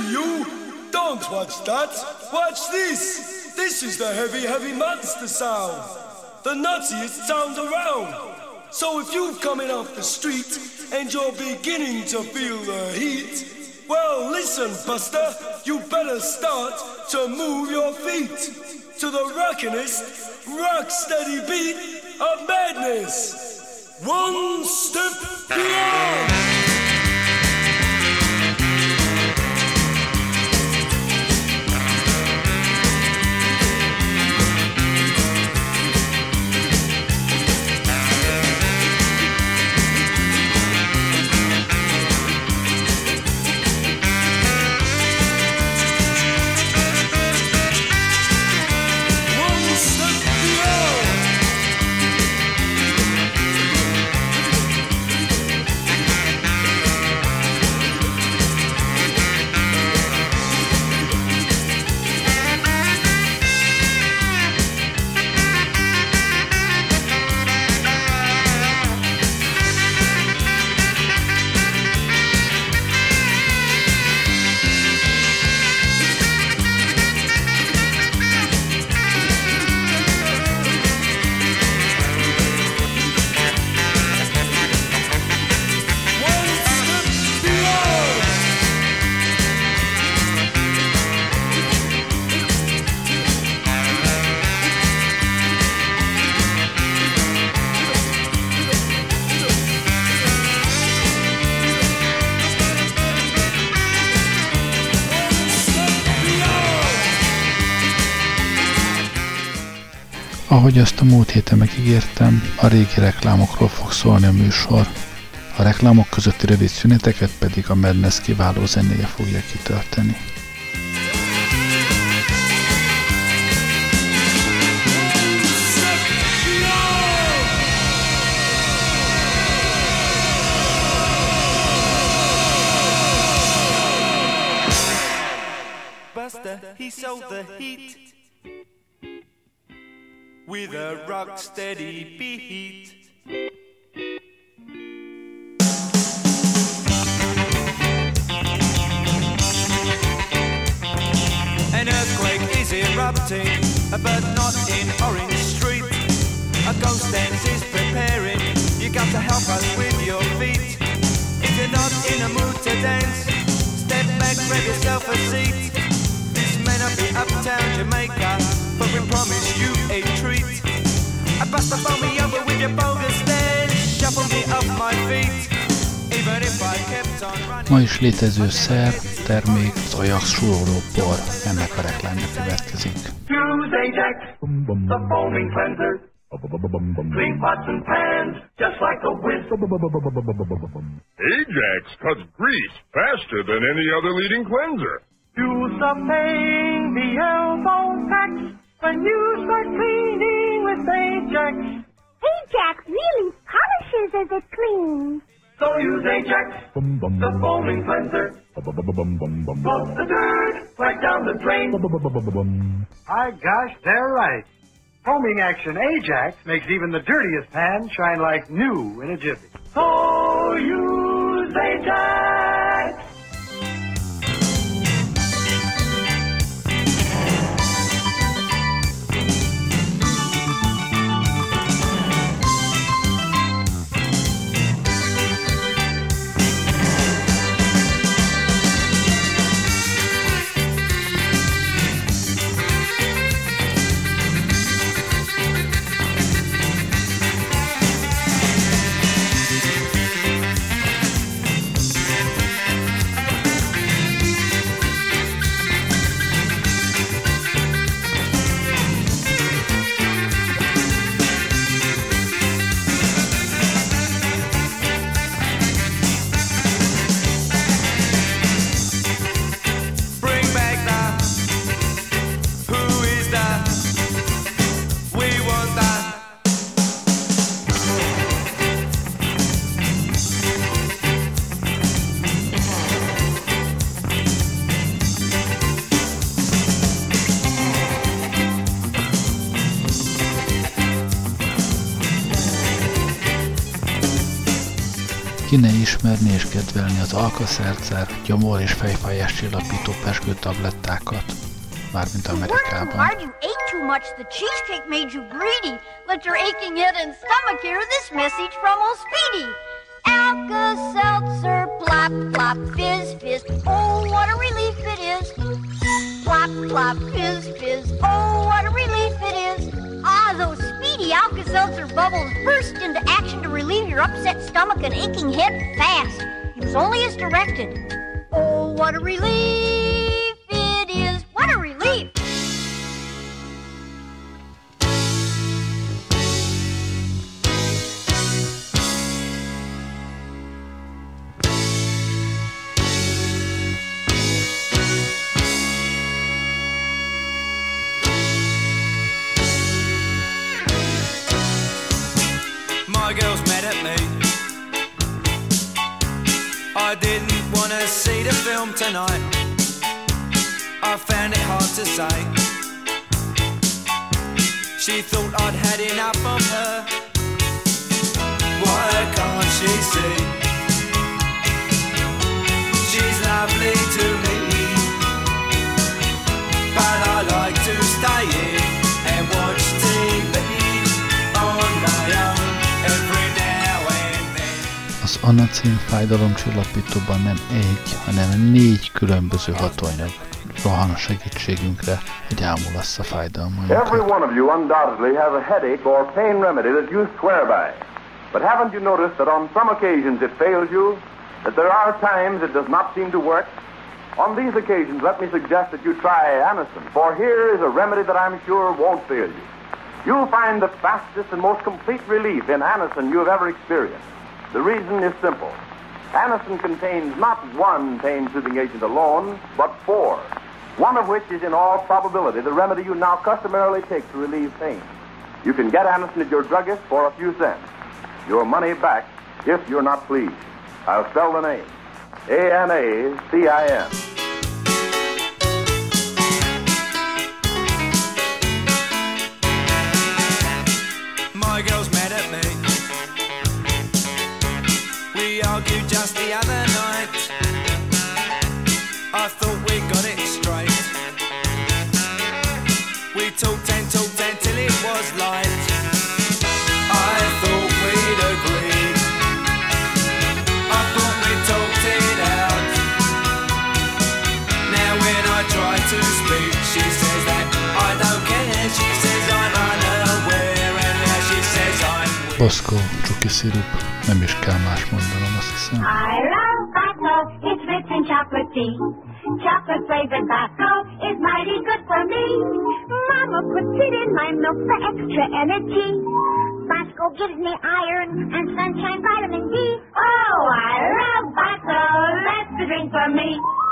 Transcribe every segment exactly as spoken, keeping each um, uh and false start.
you! Don't watch that! Watch this! This is the heavy, heavy monster sound! The nuttiest sound around! So if you're coming off the street and you're beginning to feel the heat, well, listen, Buster, you better start to move your feet to the rockinest, rock-steady beat of madness. One step beyond! Ahogy azt a múlt héten megígértem, a régi reklámokról fog szólni a műsor. A reklámok közötti rövid szüneteket pedig a Madness kiváló zenéje fogja kitölteni. Buster, he sold the heat with a rock-steady beat. An earthquake is erupting, but not in Orange Street. A ghost dance is preparing, you got to help us with your feet. If you're not in a mood to dance, step back, grab yourself a seat. This may not be uptown Jamaica, but we promise you a treat. I bust the phone me over with your bogus dance, shuffle me off my feet. Even if I kept on running. Ma is létező szer, termék, az Ajax súroló por. Ennek a reklámja következik. Use Ajax, the foaming cleanser. Clean pots and pans, just like a whiz. Ajax cuts grease faster than any other leading cleanser. Use the pain, the elbow tax. When you start cleaning with Ajax. Ajax really polishes as it cleans. So use Ajax, the foaming cleanser. Flush the dirt right down the drain. My gosh, they're right. Foaming action Ajax makes even the dirtiest pan shine like new in a jiffy. So use Ajax. ne ismerni és kedvelni az Alka-Seltzer, gyomor- és fejfájás csillapító pezsgő tablettákat, mármint Amerikában. Hard you ate too much. The cheesecake made you greedy. Let your aching head and stomach hear this message from old Speedy. Alka-Seltzer, plop, plop, fizz, fizz. Oh, what a relief it is. Plop, plop, fizz, fizz. Oh, what a relief it is. Ah, those speedy Alka-Seltzer bubbles burst into action to relieve your upset stomach and aching head fast. Use only as directed. Oh, what a relief it is. What a relief. My girls mad at me. I didn't want to see the film tonight. I found it hard to say. She thought I'd had enough of her. Why can't she see? She's lovely to me, but I like to stay here and watch T V on my own. Az anacin fájdalomcsillapítóban nem egy, hanem négy különböző hatóanyag rohan a segítségünkre, hogy ámulassza fájdalmainkat. Every one of you undoubtedly has a headache or pain remedy that you swear by. But haven't you noticed that on some occasions it fails you? That there are times it does not seem to work? On these occasions, let me suggest that you try Anacin, for here is a remedy that I'm sure won't fail you. You'll find the fastest and most complete relief in Anacin you have ever experienced. The reason is simple. Anacin contains not one pain-soothing agent alone, but four, one of which is in all probability the remedy you now customarily take to relieve pain. You can get Anacin at your druggist for a few cents. Your money back if you're not pleased. I'll spell the name. A N A C I N. My girl's mad at me. We argued just the other night. I thought we got it straight. We talked and talked until it was light. I thought we'd agreed. I thought we talked it out. Now when I try to speak, she says that I don't care. She says I'm unaware, and now she says I'm weak. Boszkó, csuki szirup, nem is kell más mondanom, azt hiszem. I love Bosco, it's rich in chocolate tea. Chocolate flavored Bosco is mighty good for me. Mama puts it in my milk for extra energy. Bosco gives me iron and sunshine vitamin D. Oh, I love Bosco, that's the drink for me.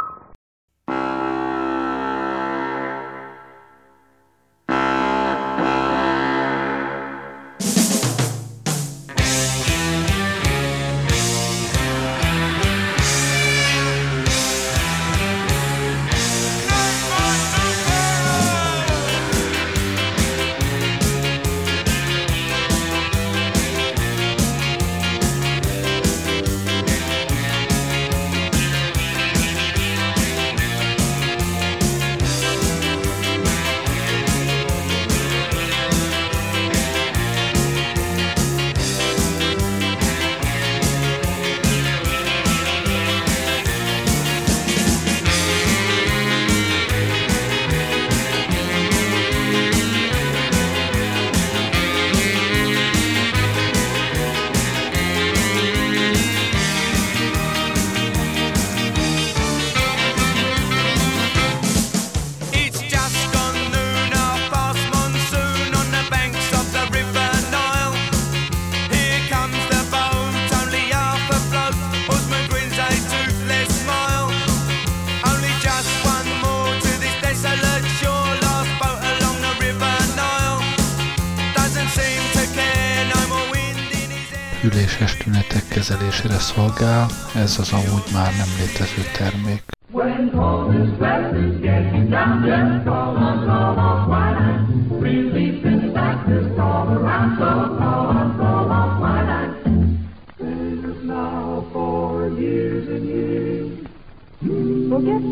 üléses tünetek kezelésére szolgál, ez az amúgy már nem létező termék. When home is restless, getting down, just call on, call on quinine. Relief in practice, all around, so call on, call on quinine. Save it now for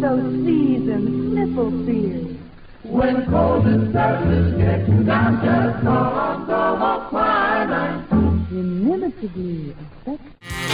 those seas and sniffle fears. When cold and sadness get you down, just call on Como Quinine. Inimicably effective.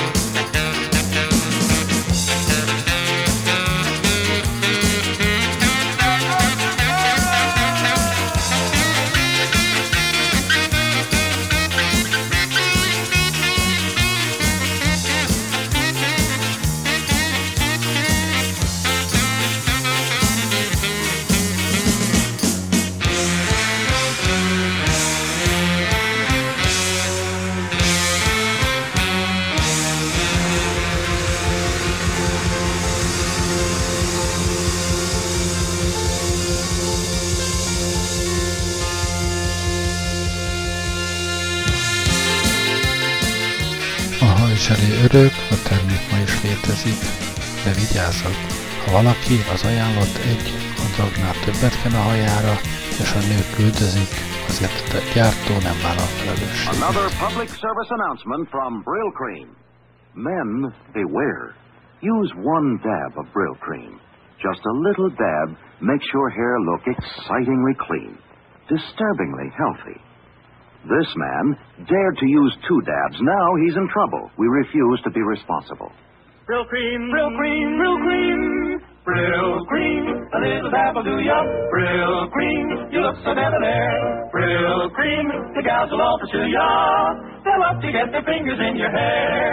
Elé örök, a termék ma is létezik, de vigyázzak, ha valaki az ajánlott egy adagnál többet ken a hajára, és a nők üldözik, azért a gyártó nem vállal felelősséget. Another public service announcement from Brill Cream. Men, beware. Use one dab of Brill Cream. Just a little dab makes your hair look excitingly clean, disturbingly healthy. This man dared to use two dabs. Now he's in trouble. We refuse to be responsible. Brill Cream, Brill Cream, Brill Cream, Brill Cream, a little dab will do ya. Brill Cream, you look so debonair. Brill Cream, the gals will all pursue ya. They'll love to get their fingers in your hair.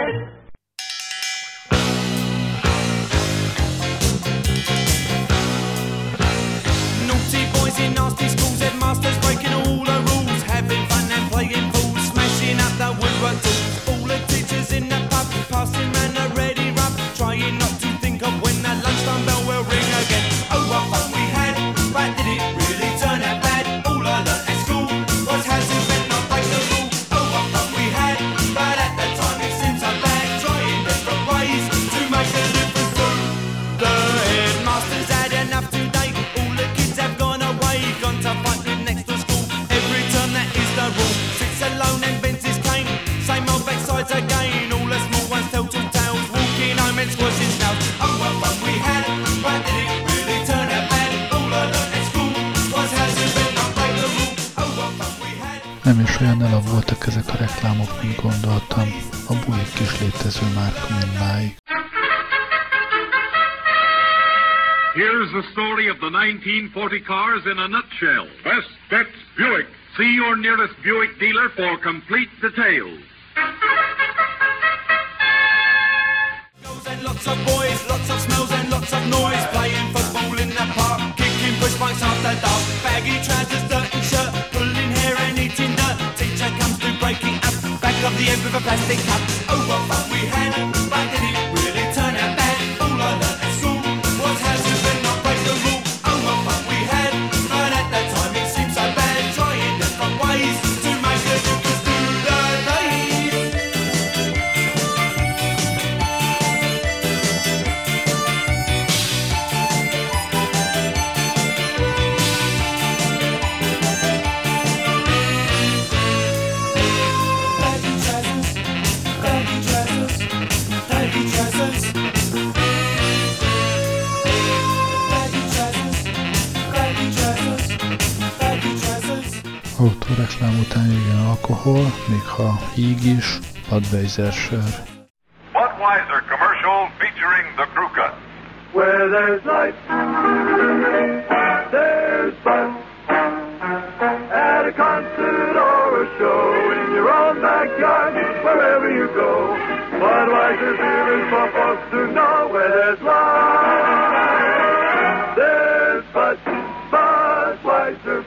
Naughty boys in nasty schools, headmasters breaking all the rules, having fun and playing fools, smashing up the woodwork tools. All the teachers in the pub, passing round a ready rub, trying not to think of when the lunchtime bell will ring again. Oh, what fun we had, but did it really turn out bad? All I learnt at school was how to bend, not break the rule. Oh, what fun we had, but at that time it seemed so bad, trying different ways to make a difference too. The headmasters had enough today, all the kids have gone away, gone to fight with next to school. Every term that is the rule, sits alone and bends his cane, same old backsides again. All the small ones tell two tales, walking home and squashing snails. Oh, what fun we had, but did it really turn out bad? All I learnt at school was how to bend, not break the rule. Oh, what fun we had. Nem is olyan elab voltak ezek a reklámok, mint gondoltam. A Buick is létező márka mindmáig. Here's the story of the nineteen forty cars in a nutshell. Best Bets Buick. See your nearest Buick dealer for complete details. And lots of boys, lots of smells and lots of noise, playing football in the park, kicking push bikes after dark, baggy trousers, dirty shirt, pulling hair and eating dirt. Teacher comes through breaking up, back of the head with a plastic cup. Oh, what fun we had, but did it really turn out bad? All I learnt at school was how to bend, not break the rule. Oh, what fun we had, but at that time it seemed so bad, trying different ways to make a difference to the days. Baggy trousers, baggy trousers, baggy trousers. Baggy trousers, baggy trousers, baggy trousers. Autóreklám után jöjjön alkohol, még ha híg is, Budweiser sör. Budweiser commercial featuring the crew cut. Where there's life, there's fun. At a concert or a show, in your own backyard, wherever you go. Budweiser beer is for folks to know. Where there's life, there's Bud, Budweiser.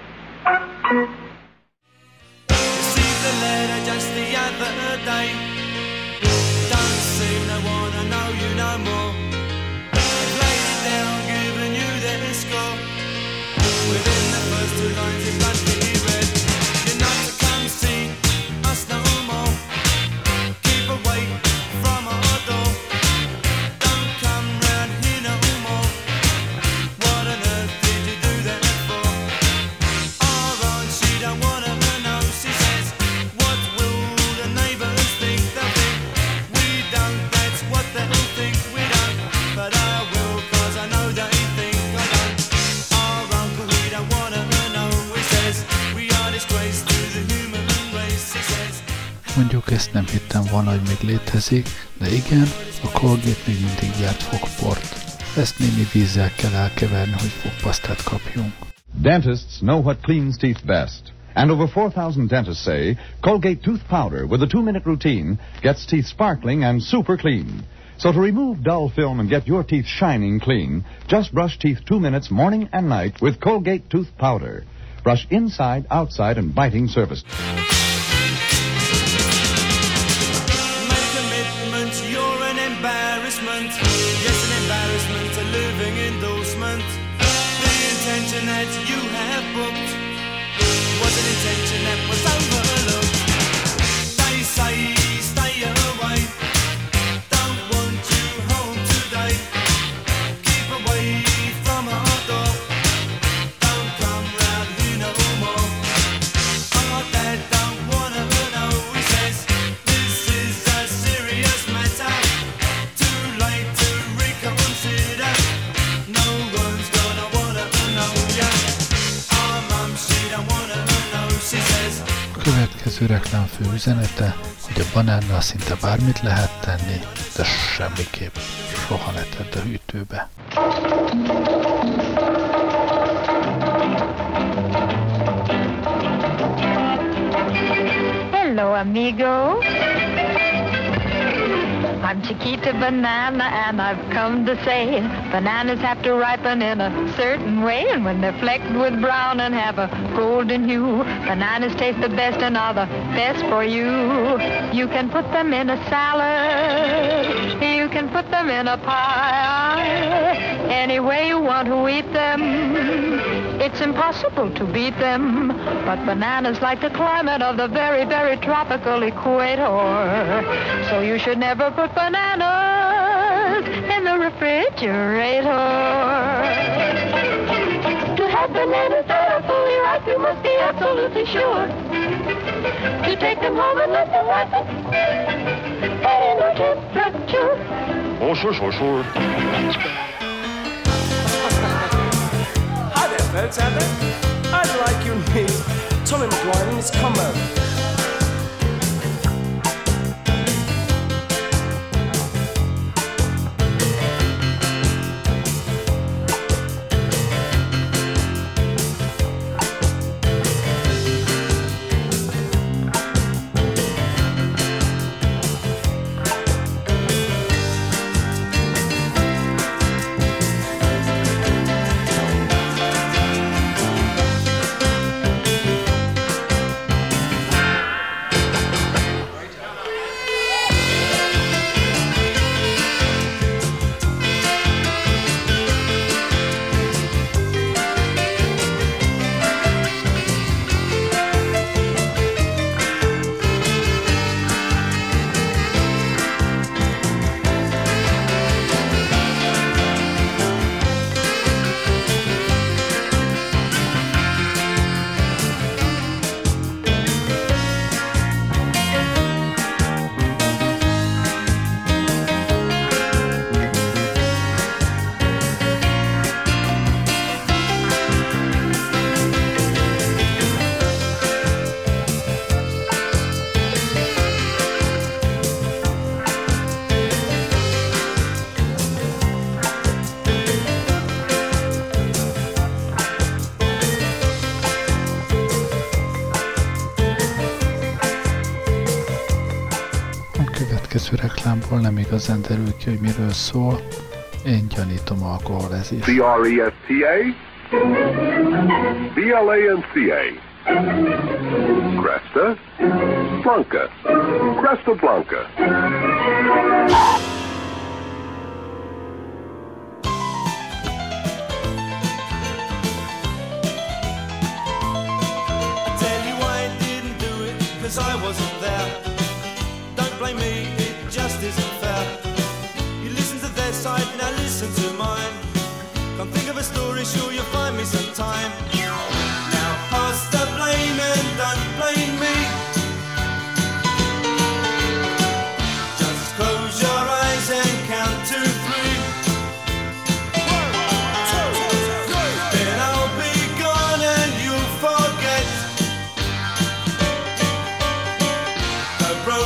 Received a letter just the other day. Don't seem to wanna know you no more. They've laid it down, giving you their score. Within the first two lines it must be read. You're not to come see us no more. Keep away from our door. Don't come round here no more. What on earth did you do that for? Or aren't you Mondjuk ezt nem hittem volna, hogy még létezik, de igen, a Colgate még mindig gyárt fogport. Ezt némi vízzel kell elkeverni, hogy fogpasztát kapjunk. Dentists know what cleans teeth best. And over four thousand dentists say Colgate tooth powder with a two-minute routine gets teeth sparkling and super clean. So to remove dull film and get your teeth shining clean, just brush teeth two minutes morning and night with Colgate tooth powder. Brush inside, outside, and biting surface. Make commitment, you're an embarrassment. Yes, an embarrassment, a living endorsement. The intention that you have booked was an intention that was overlooked. They say stay away, don't want you home today. Keep away from our door, don't come round here no more. Our dad don't wanna know, he says this is a serious matter. Too late to reconsider, no one's gonna wanna know ya. Our mum, she don't wanna know, she says. A következő reklámfő üzenete, hogy a banánnal szinte bármit lehet tenni, de semmiképp soha ne tedd a hűtőbe. Hello, amigo. I'm Chiquita Banana, and I've come to say bananas have to ripen in a certain way, and when they're flecked with brown and have a golden hue, bananas taste the best and are the best for you. You can put them in a salad, you can put them in a pie, any way you want to eat them. It's impossible to beat them, but bananas like the climate of the very, very tropical equator. So you should never put bananas in the refrigerator. To have bananas that are fully ripe, you must be absolutely sure to take them home and let them ripen at indoor temperature. Oh, sure, sure, sure. Hi there, folks out there. I'd like you to meet Tommy McGuire and his combo. következő reklámból nem igazán derül ki, hogy miről szól. Én gyanítom alkoholezést. C R E S T A B L A N C A Cresta Blanca Cresta Blanca. I wasn't there. Don't blame me, it just isn't fair. You listen to their side, now listen to mine. Come think of a story, sure you'll find me sometime. Now pass the blame and don't blame me. Just close your eyes and count to three. One, two, three. Then I'll be gone and you'll forget. The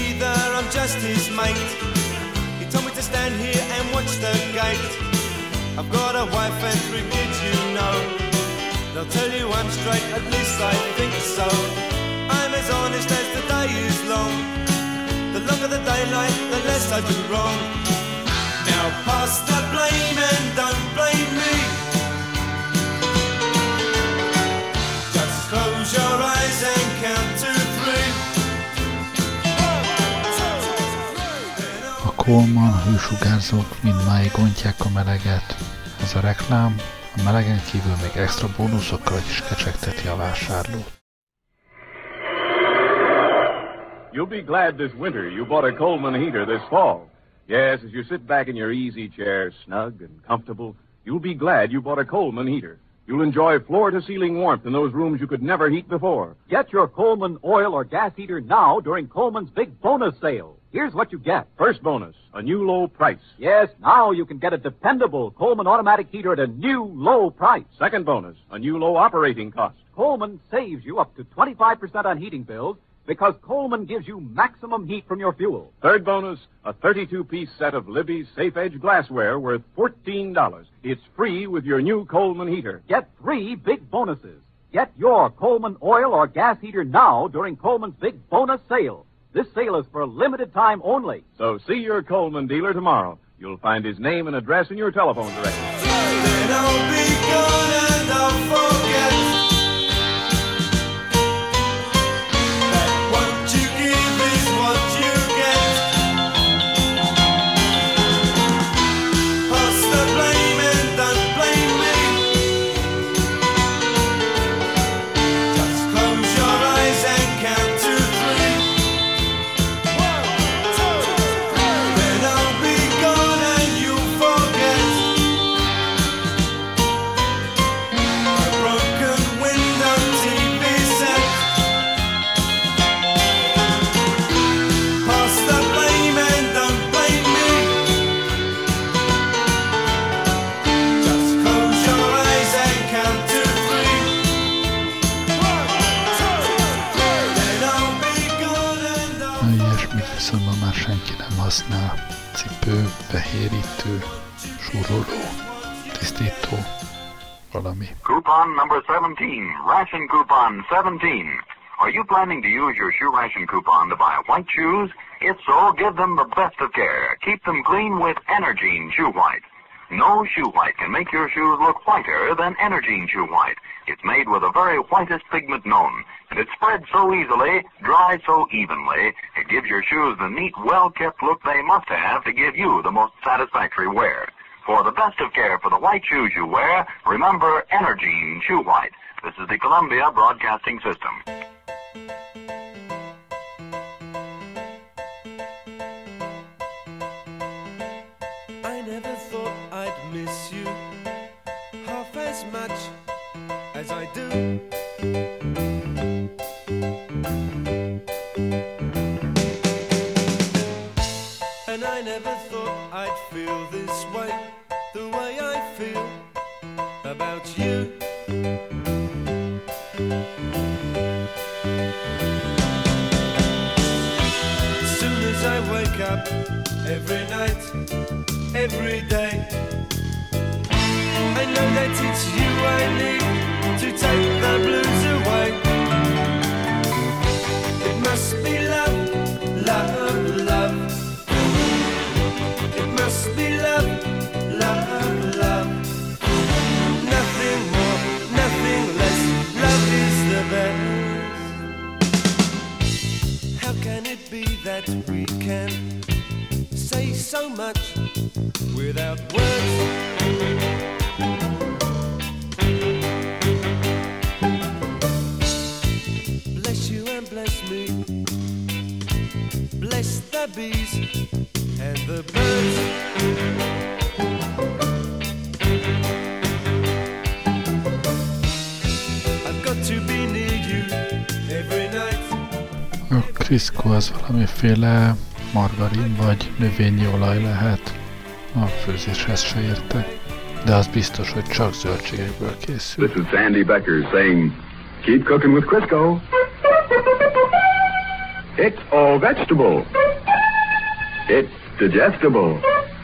either, I'm just his mate. He told me to stand here and watch the gate. I've got a wife and three kids, you know. They'll tell you I'm straight, at least I think so. I'm as honest as the day is long. The longer the daylight, the less I do wrong. Now pass the blame and don't blame me. Just close your eyes and count to three. A Coleman hősugárzók mindmáig ontják a meleget. Ez a reklám, a melegen kívül még extra bónuszokkal is kecsegteti a vásárlót. You'll be glad this winter you bought a Coleman heater this fall. Yes, as you sit back in your easy chair, snug and comfortable, you'll be glad you bought a Coleman heater. You'll enjoy floor-to-ceiling warmth in those rooms you could never heat before. Get your Coleman oil or gas heater now during Coleman's big bonus sale. Here's what you get. First bonus, a new low price. Yes, now you can get a dependable Coleman automatic heater at a new low price. Second bonus, a new low operating cost. Coleman saves you up to twenty-five percent on heating bills because Coleman gives you maximum heat from your fuel. Third bonus, a thirty-two piece set of Libby's Safe Edge glassware worth fourteen dollars. It's free with your new Coleman heater. Get three big bonuses. Get your Coleman oil or gas heater now during Coleman's big bonus sale. This sale is for a limited time only. So see your Coleman dealer tomorrow. You'll find his name and address in your telephone directory. Then I'll be gone and I'll forget that what you give is what you get. Pass the blame and don't blame me. Just close your eyes and count to three. Then I'll be gone and you'll forget a broken window T V set. Pass the blame and don't blame me. Just close your eyes and count to three. Then I'll be gone and I'll Na, ilyesmit viszont ma már senki nem használ. Cipő, fehérítő, súroló, tisztító, valami. Coupon number seventeen, ration coupon seventeen. Are you planning to use your shoe ration coupon to buy white shoes? If so, give them the best of care. Keep them clean with Energine Shoe White. No shoe white can make your shoes look whiter than Energine Shoe White. It's made with the very whitest pigment known, and it spreads so easily, dries so evenly, it gives your shoes the neat, well-kept look they must have to give you the most satisfactory wear. For the best of care for the white shoes you wear, remember Energine Shoe White. This is the Columbia Broadcasting System. I never thought I'd miss you half as much as I do. And I never thought I'd feel this way, the way I feel about you. As soon as I wake up every night, every day, I know that it's you I need to take the blues away. It must be love, love, love. It must be love, love, love. Nothing more, nothing less. Love is the best. How can it be that we can say so much without words? Bless you and bless me. Bless the bees and the birds. I've got to be near you every night. A Crisco az valamiféle margarin vagy növényi olaj lehet. A főzéshez se értek, de az biztos, hogy csak zöldségekből készül. This is Sandy Becker saying, keep cooking with Crisco. It's all vegetable. It's digestible.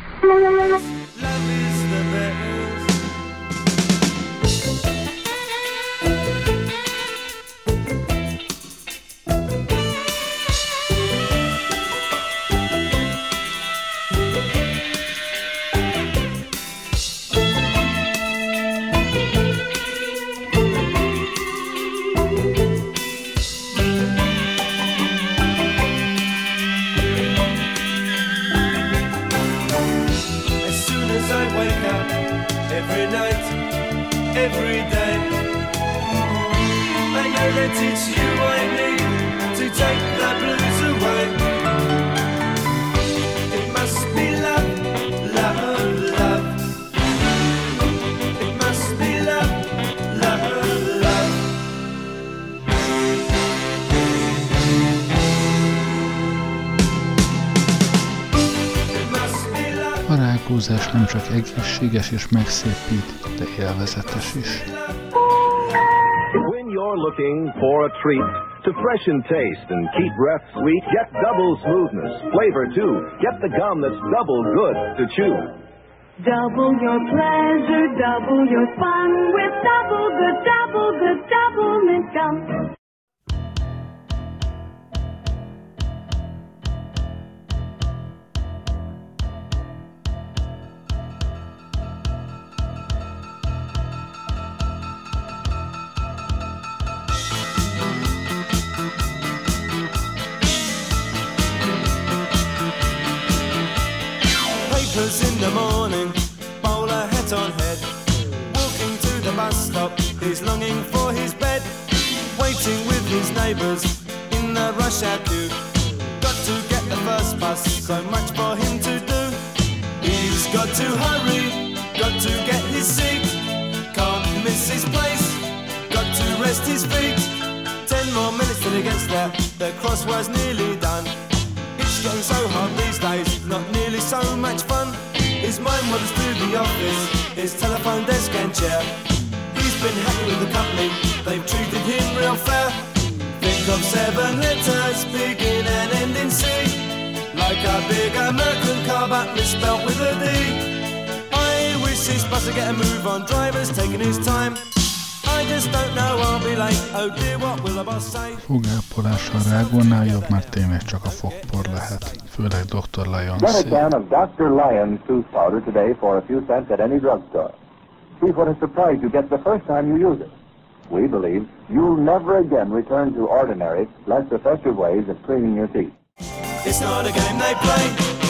A rágózás nem csak egészséges és megszépít, de élvezetes is. When you're looking for a treat to freshen taste and keep breath sweet, get double smoothness, flavor too. Get the gum that's double good to chew. Double your pleasure, double your fun with double good, double good, double mint gum. In the morning, bowler hat on head, walking to the bus stop, he's longing for his bed, waiting with his neighbours in the rush hour queue. Got to get the first bus, so much for him to do. He's got to hurry, got to get his seat, can't miss his place, got to rest his feet. Ten more minutes till he gets there, the crossword's nearly done. It's getting so hard these days, not nearly so much fun. His mind wanders through the office, his telephone desk and chair. He's been happy with the company, they've treated him real fair. Think of seven letters, begin and end in C, like a big American car but misspelt with a D. I wish this bus would get a move on, driver's taking his time. I just don't know, I'll be late, oh dear, what will the boss say? Fogápolás a rágónál jobb, mert tényleg csak a fogpor lehet, főleg doktor Lyons. Get a can of Doctor Lyons tooth powder today for a few cents at any drugstore. See what a surprise you get the first time you use it. We believe you'll never again return to ordinary, less effective ways of cleaning your teeth. It's not a game they play.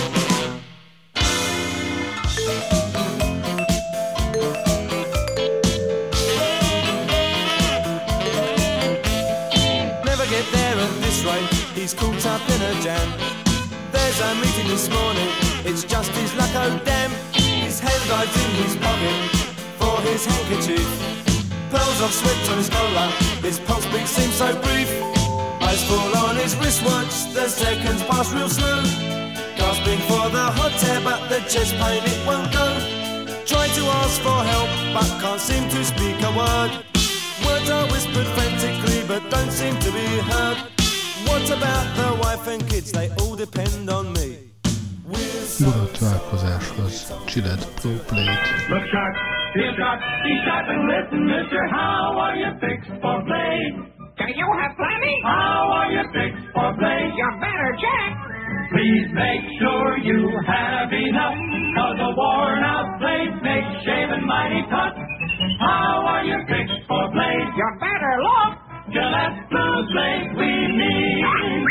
He's caught up in a jam. There's a meeting this morning, it's just his luck, oh damn. His hand dives in his pocket for his handkerchief. Pearls of sweat on his collar, his pulse beat seems so brief. Eyes fall on his wristwatch, the seconds pass real slow. Gasping for the hot air, but the chest pain it won't go. Try to ask for help, but can't seem to speak a word. Words are whispered frantically, but don't seem to be heard. What about the wife and kids? They all depend on me. Buda találkozáshoz Gillette Pro Blade. Look sharp, feel sharp, be sharp and listen, mister. How are you fixed for blade? Do you have plenty? How are you fixed for blade? You better check. Please make sure you have enough, cause a worn out blade makes shaving mighty tough. How are you fixed for blade? You better look. Gillette Blue Blade we need.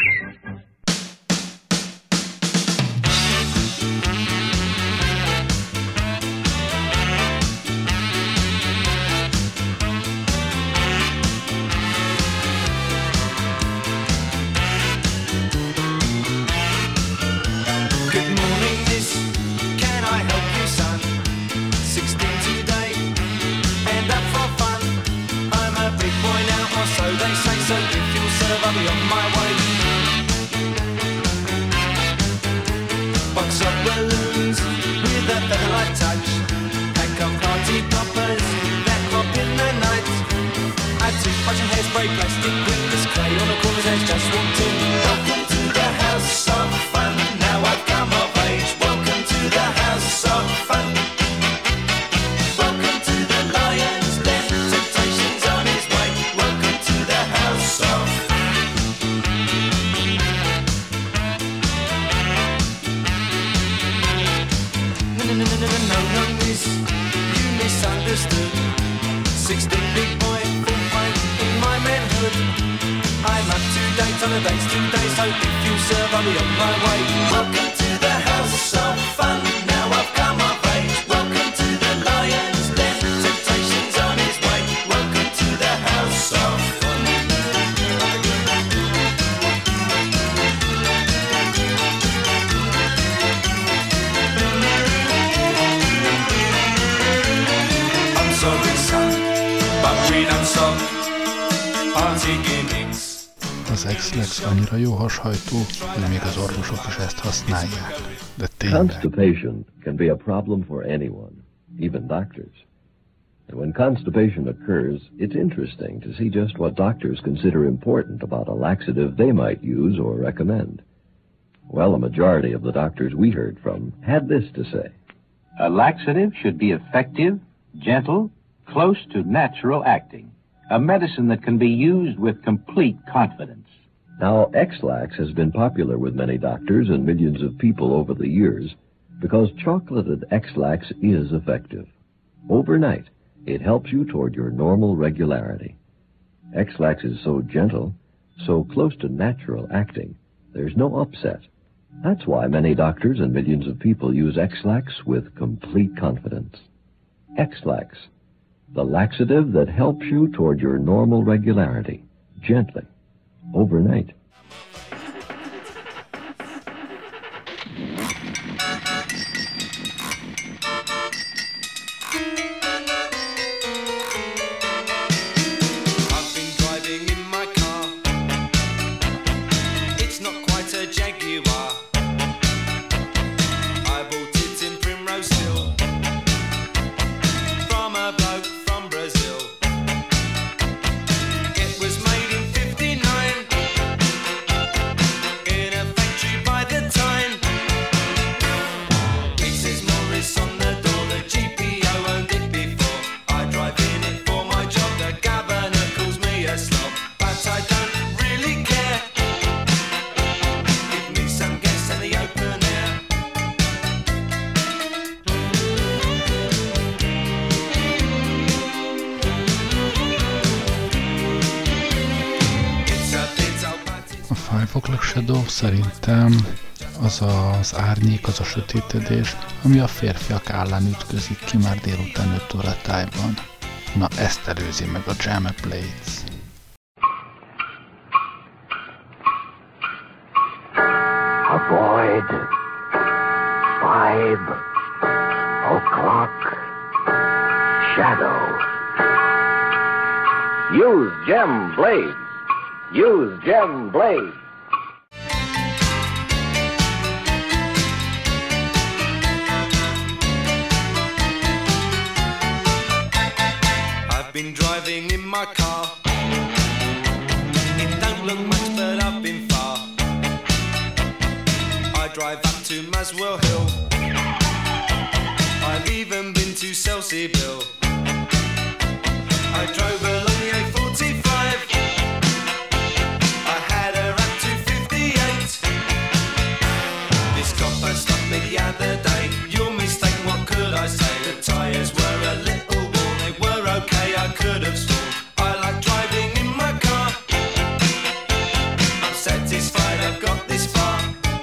Good morning, miss. Can I help you, son? Sixteen today, and up for fun. I'm a big boy now, or so they say. So if you'll serve, I'll be on my way. Box of balloons with a feather-like touch. Pack of party poppers that pop in the night. A toothbrush and hairspray, plastic windows, clay on the corners, has just walked in. Welcome days. You misunderstood. Sixteen big boy, full fight in my manhood. I'm up to date on the dates today, so if you serve, I'll be on my way. Welcome to the house of fun. Now I've come of age. Welcome to the Lion's Den. Temptation's on his way. Welcome to the house of fun. I'm sorry, son, but we don't stop party gimmicks. Az Ex-Lax annyira jó hashajtó, hogy még az orvosok is ezt használják. De tényleg. Constipation can be a problem for anyone, even doctors. And when constipation occurs, it's interesting to see just what doctors consider important about a laxative they might use or recommend. Well, a majority of the doctors we heard from had this to say. A laxative should be effective, gentle, close to natural acting. A medicine that can be used with complete confidence. Now, Ex-Lax has been popular with many doctors and millions of people over the years because chocolated Ex-Lax is effective. Overnight, it helps you toward your normal regularity. Ex-Lax is so gentle, so close to natural acting, there's no upset. That's why many doctors and millions of people use Ex-Lax with complete confidence. Ex-Lax, the laxative that helps you toward your normal regularity, gently, overnight. I've been driving in my car. It's not quite a Jaguar. I bought it in Primrose Hill from a bloke from Brazil. It was made in fifty-nine in a factory by the Tyne. It says Morris on the door, the G P O owned it before. I drive in it for my job, the governor calls me a slob, but I don't really care. Give me some gas and the open air. It's a bit old, but it's A Five O'Clock Shadow szerintem az az árnyék, az a sötétedés, ami a férfiak állán ütközik ki már délután öt óra tájban. Na ezt előzi meg a Jam Blades. Avoid five o'clock shadow. Use Gem Blades. Use Gem Blades. I've been driving in my car. It don't look much, but I've been far. I drive up to Maswell Hill. I've even been to Selseyville. I drove along the A forty-five. I had her up to fifty-eight. This copper stopped me the other day. You're mistaken, what could I say? The tyres were a little worn, they were okay, I could have sworn. I like driving in my car. I'm satisfied I've got this far.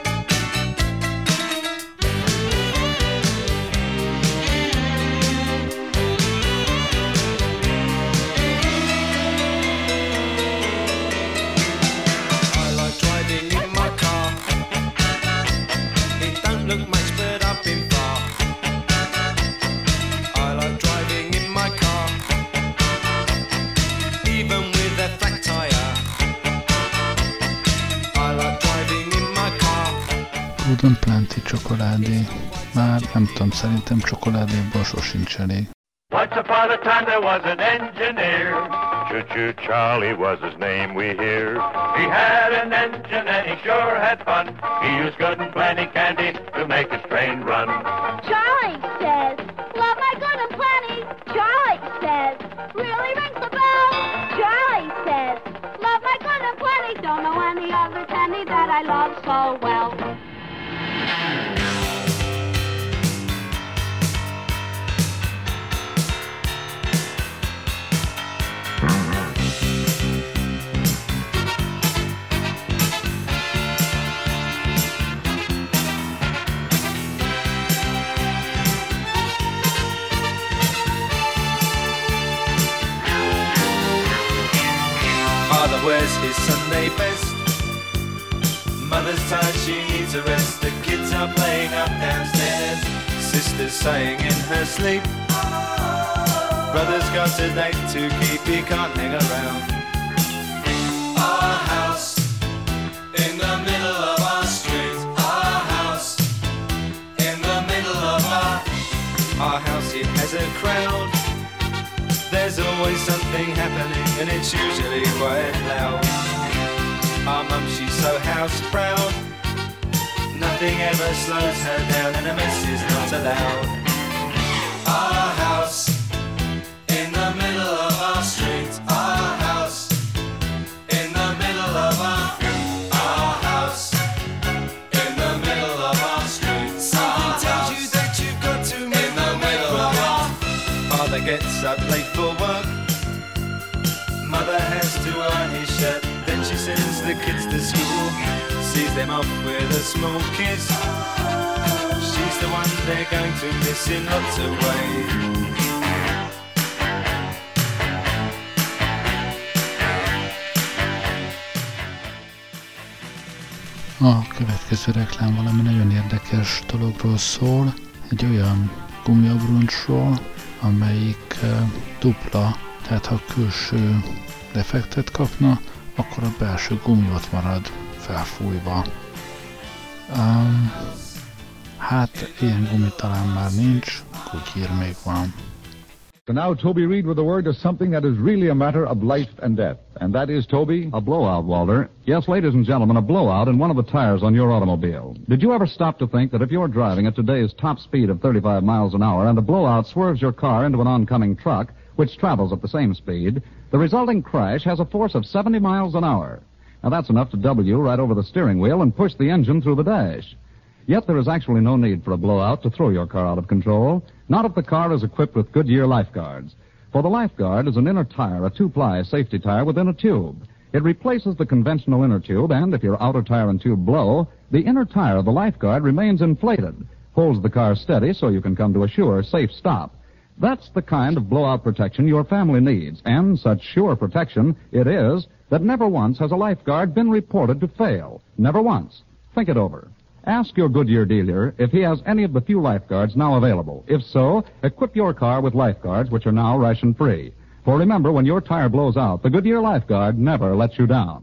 I like driving in my car. It don't look much, but I've been far. I like driving in my car, even with a flat tire. I like driving in my car. Golden Plenty csokoládé. Már nem tudom, szerintem csokoládéból sosincs elég. Once upon a time there was an engineer. Choo-choo Charlie was his name, we hear. He had an engine and he sure had fun. He used good and plenty candy to make his train run. Charlie says, love my good and plenty. Charlie says, really rings the bell. Charlie says, love my good and plenty. Don't know any other candy that I love so well. wears his Sunday best. Mother's tired, she needs a rest. The kids are playing up downstairs. Sister's sighing in her sleep. Brother's got a date to keep, he can't hang around. Our house in the middle of our street. Our house in the middle of our Our house, it has a crowd. There's always something happening and it's usually quite loud. Our mum, she's so house proud. Nothing ever slows her down and a mess is not allowed. Our house in the middle of our street. Our house in the middle of our Our house in the middle of our street. Something tells you that you've got to in the middle of our Father gets up late for work. Mother has to iron his shirt. Then she sends the kids to school, sees them off with a small kiss. She's the one they're going to miss in lots of ways. A következő reklám valami nagyon érdekes dologról szól, egy olyan gumiabroncsról, amelyik dupla, tehát ha külső defektet kapna, akkor a belső gumi ott marad felfújva. Um, hát ilyen gumi talán már nincs, Goodyear még van. So now Toby Reed with a word to something that is really a matter of life and death. And that is, Toby? A blowout, Walter. Yes, ladies and gentlemen, a blowout in one of the tires on your automobile. Did you ever stop to think that if you're driving at today's top speed of thirty-five miles an hour and a blowout swerves your car into an oncoming truck, which travels at the same speed, the resulting crash has a force of seventy miles an hour. Now, that's enough to double you right over the steering wheel and push the engine through the dash. Yet there is actually no need for a blowout to throw your car out of control, not if the car is equipped with Goodyear Lifeguards. For the Lifeguard is an inner tire, a two-ply safety tire within a tube. It replaces the conventional inner tube, and if your outer tire and tube blow, the inner tire of the Lifeguard remains inflated, holds the car steady so you can come to a sure, safe stop. That's the kind of blowout protection your family needs, and such sure protection it is that never once has a Lifeguard been reported to fail. Never once. Think it over. Ask your Goodyear dealer if he has any of the few Lifeguards now available. If so, equip your car with Lifeguards, which are now ration-free. For remember, when your tire blows out, the Goodyear Lifeguard never lets you down.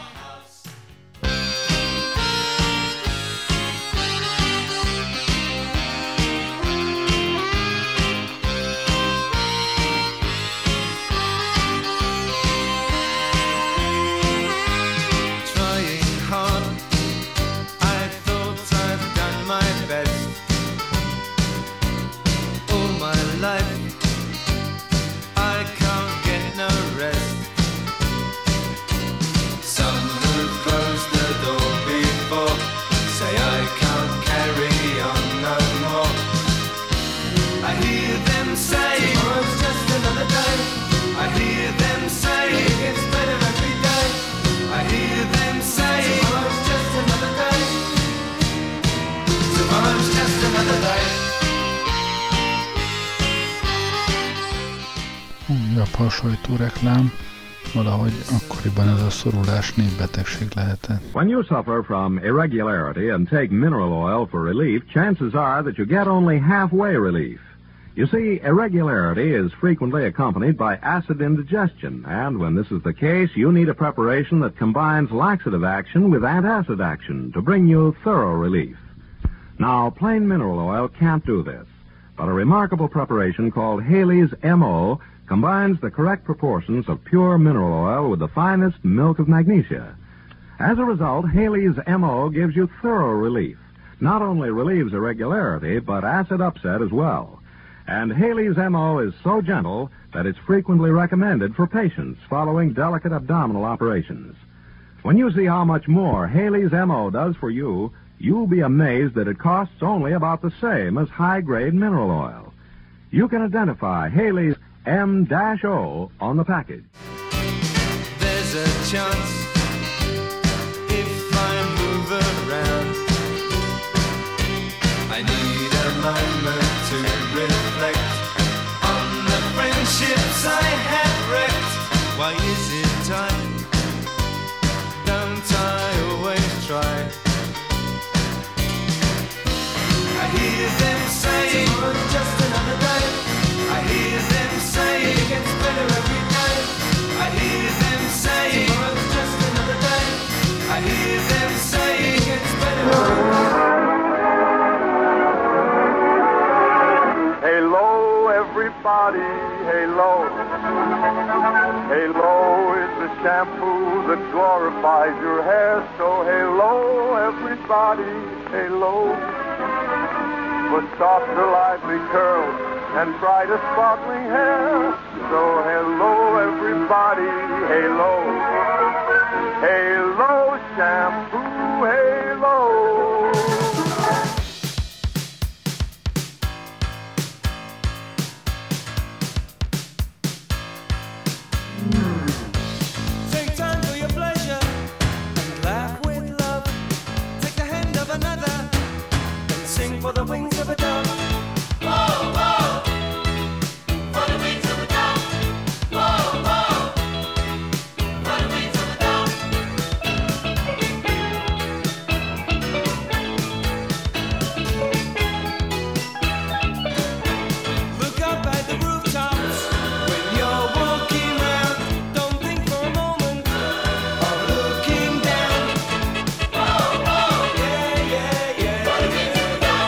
Újabb hasonlító reklám, valahogy akkoriban ez a szorulás népbetegség lehetett. When you suffer from irregularity and take mineral oil for relief, chances are that you get only halfway relief. You see, irregularity is frequently accompanied by acid indigestion, and when this is the case, you need a preparation that combines laxative action with antacid action to bring you thorough relief. Now, plain mineral oil can't do this, but a remarkable preparation called Haley's M O combines the correct proportions of pure mineral oil with the finest milk of magnesia. As a result, Haley's M O gives you thorough relief. Not only relieves irregularity, but acid upset as well. And Haley's M O is so gentle that it's frequently recommended for patients following delicate abdominal operations. When you see how much more Haley's M O does for you, you'll be amazed that it costs only about the same as high-grade mineral oil. You can identify Haley's M O on the package. There's a chance if I move around. I need a moment to reflect on the friendships I had wrecked. Why is it time everybody, Halo. Halo is the shampoo that glorifies your hair. So Halo, everybody, Halo. For softer, lively curls and brighter, sparkling hair. So Halo, everybody, Halo. Halo shampoo, Halo. For the wings of a dove. Whoa, whoa. For the wings of a dove. Whoa, whoa. For the wings of a dove. Look up at the rooftops when you're walking round. Don't think for a moment of looking down. Whoa, whoa. Yeah, yeah, yeah. For the wings of a dove.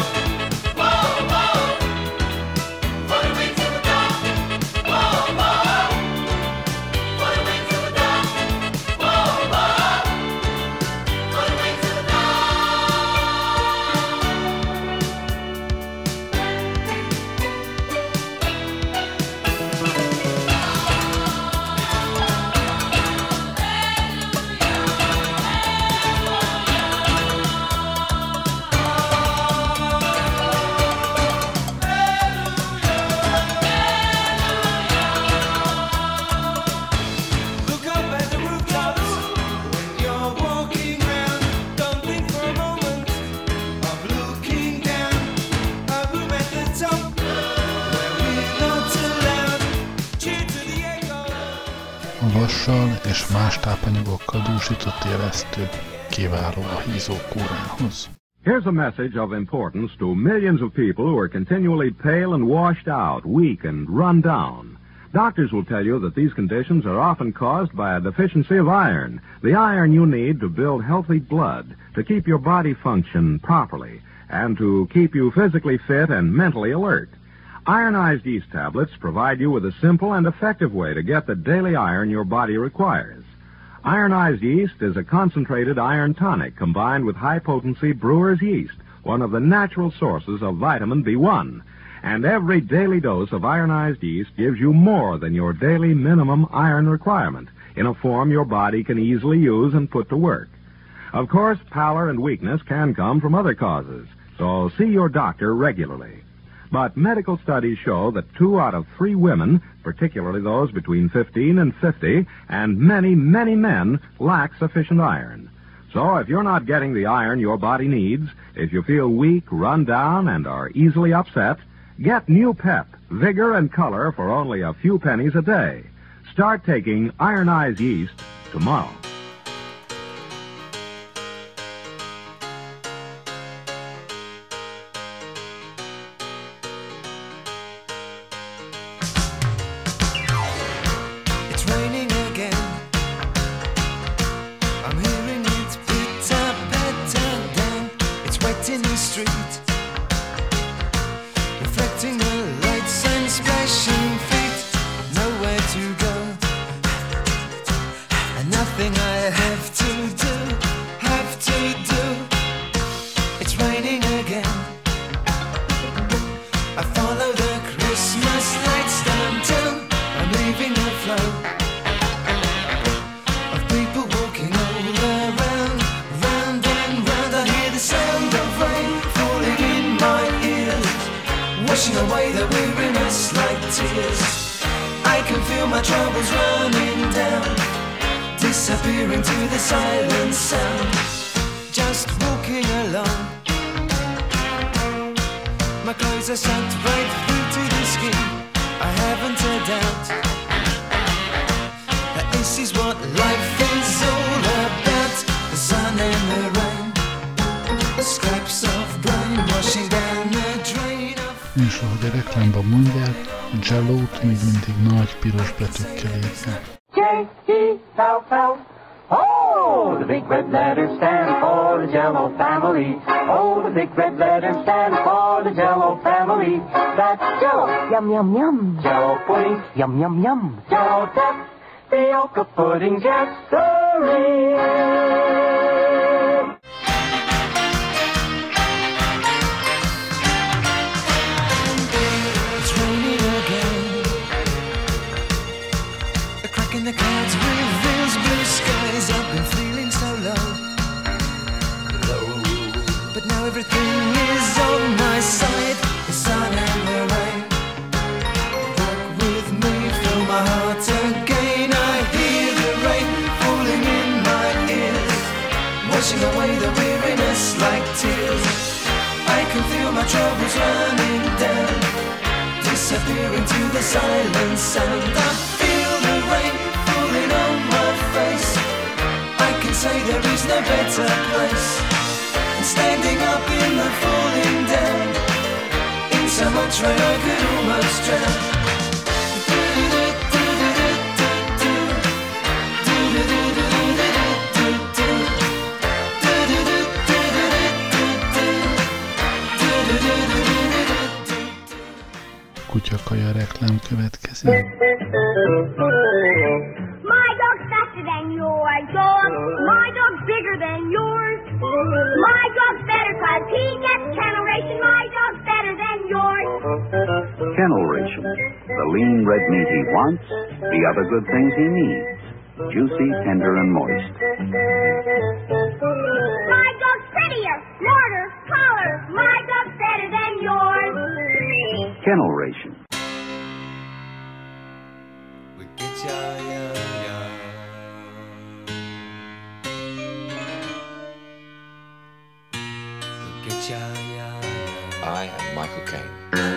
Vassal és más tápanyagokkal dúsított élesztő kiváló a hízókúrához. Here's a message of importance to millions of people who are continually pale and washed out, weak and run down. Doctors will tell you that these conditions are often caused by a deficiency of iron, the iron you need to build healthy blood, to keep your body function properly, and to keep you physically fit and mentally alert. Ironized yeast tablets provide you with a simple and effective way to get the daily iron your body requires. Ironized yeast is a concentrated iron tonic combined with high-potency brewer's yeast, one of the natural sources of vitamin B one. And every daily dose of ironized yeast gives you more than your daily minimum iron requirement in a form your body can easily use and put to work. Of course, pallor and weakness can come from other causes, so see your doctor regularly. But medical studies show that two out of three women, particularly those between fifteen and fifty, and many, many men, lack sufficient iron. So if you're not getting the iron your body needs, if you feel weak, run down, and are easily upset, get new pep, vigor, and color for only a few pennies a day. Start taking ironized yeast tomorrow. És ahogy a reklámban mondják, Jell-O-t még mindig nagy piros betűkkel írják. J E L L O Oh, the big red letters stand for the Jell-O family. Oh, the big red letters stand for the Jell-O family. That's Jell-O, yum, yum, yum. Jell-O pudding, yum, yum, yum. Jell-O tapioca pudding, yes, sirree. It's raining again. A crack in the clouds reveals blue skies. I've been feeling so low, low. But now everything is on my side. The sun and the rain. Walk with me, fill my heart again. I hear the rain falling in my ears, washing away the weariness like tears. I can feel my troubles running down, disappearing to the silent sound. I feel the rain falling on my face. I can say there is no better place than standing up in the falling down. In so much rain I could almost drown. Kutyakaja reklám következik. My dog's faster than your dog. My dog's bigger than yours. My dog's better cause he gets kennel ration. My dog's better than yours. Kennel ration. The lean red meat he wants, the other good things he needs. Juicy, tender, and moist. My dog's prettier, smarter, taller. My dog's better than yours. Kennel ration. I am Michael Caine.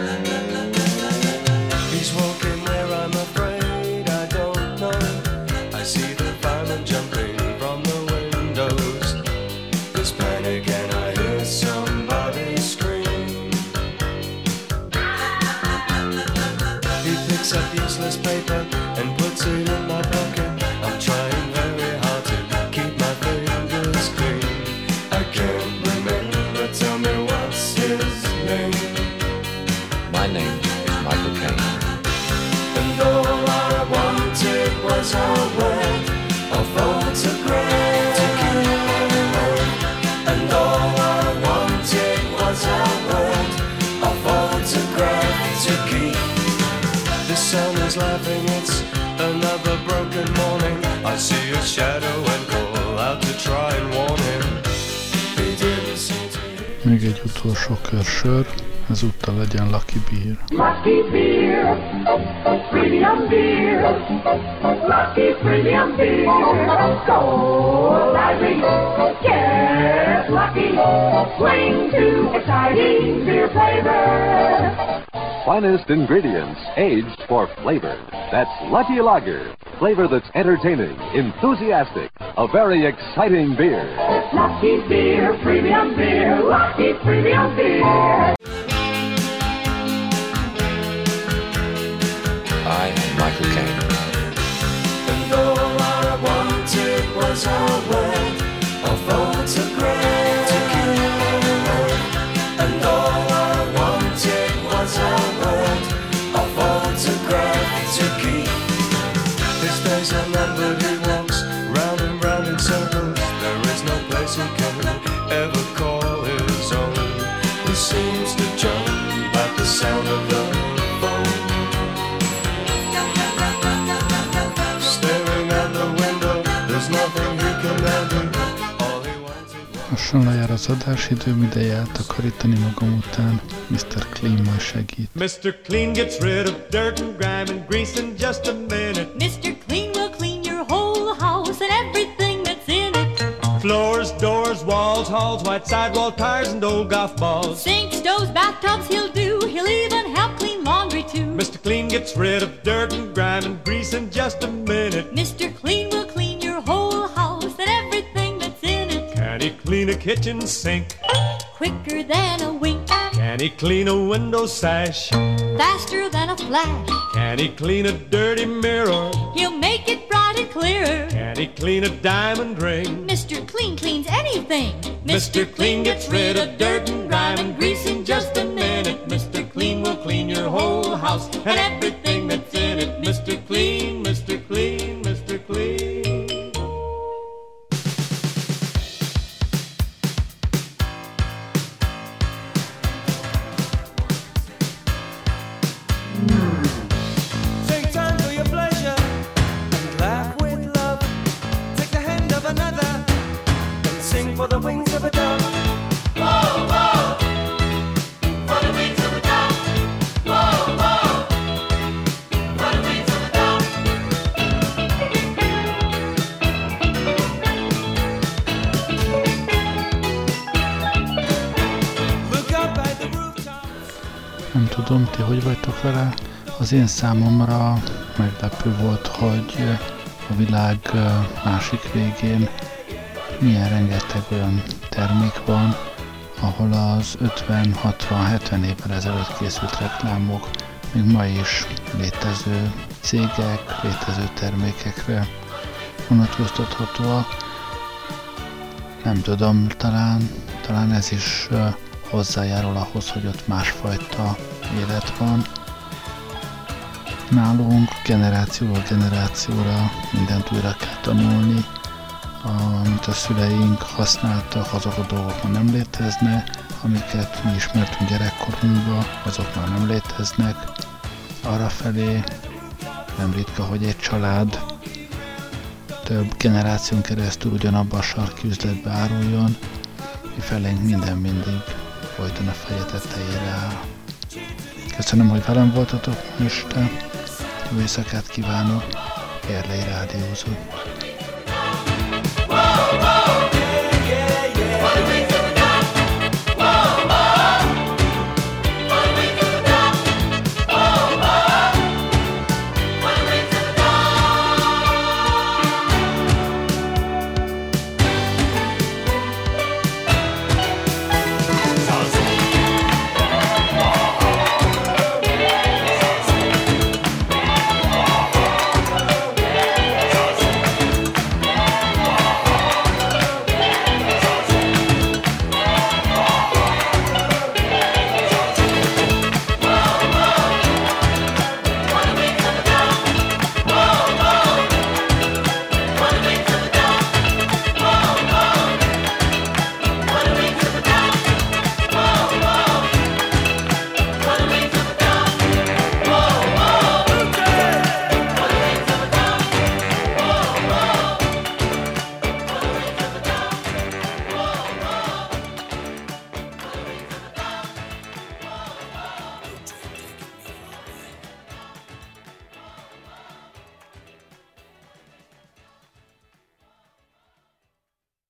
He's walking where I'm afraid I don't know. I see the firemen jumping from the windows. There's panic and I hear somebody scream. He picks up useless paper and puts it in my pocket. I'm trying very hard to keep my fingers clean. I can't remember, tell me what's his name. My name is Michael Caine. And all I wanted was a word, a photograph to keep on home. And all I wanted was a word, a photograph to keep. The sun is laughing, it's another broken morning. I see a shadow and call out to try and warn him. He didn't seem to hear. Még egy utolsó kör sör, ezúttal legyen Lucky Beer. Lucky Beer, premium beer, Lucky premium beer, so lively, get lucky, swing to exciting beer flavor. Finest ingredients, aged for flavor. That's Lucky Lager. Flavor that's entertaining, enthusiastic, a very exciting beer. Lucky Beer, premium beer, Lucky premium beer. I am Michael Caine. And all I wanted was a word, a photograph to keep on home. And all I wanted was a word, a photograph to keep. His days are numbered, he walks round and round in circles. There is no place he can ever call his own. He seems to jump at the sound of the phone. Staring out the window, there's nothing he can ever do. All he wants is... Lassan lejár az adásidőm, ideje eltakarítani magam után. miszter Clean majd segít. miszter Clean gets rid of dirt and grime and grease in just a minute. miszter Clean will clean your whole house and everything that's in it. Floors, doors, walls, halls, white sidewall tires and old golf balls. Sinks, stoves, bathtubs he'll do. He'll even help clean laundry too. miszter Clean gets rid of dirt and grime and grease in just a minute. miszter Clean will clean your whole house and everything that's in it. Can he clean a kitchen sink? Quicker than a wink. Can he clean a window sash? Faster than a flash. Can he clean a dirty mirror? He'll make it bright and clean. clear. Can he clean a diamond ring? Mister Clean cleans anything. Mister Clean gets rid of dirt and grime and grease in just a minute. Mister Clean will clean your whole house and everything that's in it. Mister Clean, Mister Clean, Mister Clean. Take time for your pleasure and laugh with love. Take the hand of another and sing for the wings of a dove. Whoa, whoa, for the wings of a dove. Whoa, whoa, for the wings of a dove. Look up at the rooftops. Nem tudom, ti hogy vagytok vele? Az én számomra meglepő volt, hogy a világ másik végén milyen rengeteg olyan termék van, ahol az ötven, hatvan, hetven évvel ezelőtt készült reklámok még ma is létező cégek, létező termékekre vonatkoztathatóak. Nem tudom, talán, talán ez is hozzájárul ahhoz, hogy ott másfajta élet van. Nálunk generációról generációra mindent újra kell tanulni, amit a szüleink használtak, azok a dolgok már nem léteznek, amiket mi ismertünk gyerekkorunkban, azok már nem léteznek. Arrafelé nem ritka, hogy egy család több generáción keresztül ugyanabban a sarki üzletbe áruljon, mi felénk minden mindig folyton a feje tetejére áll. Köszönöm, hogy velem voltatok este. Jó éjszakát kívánok, Gerlei rádiózott.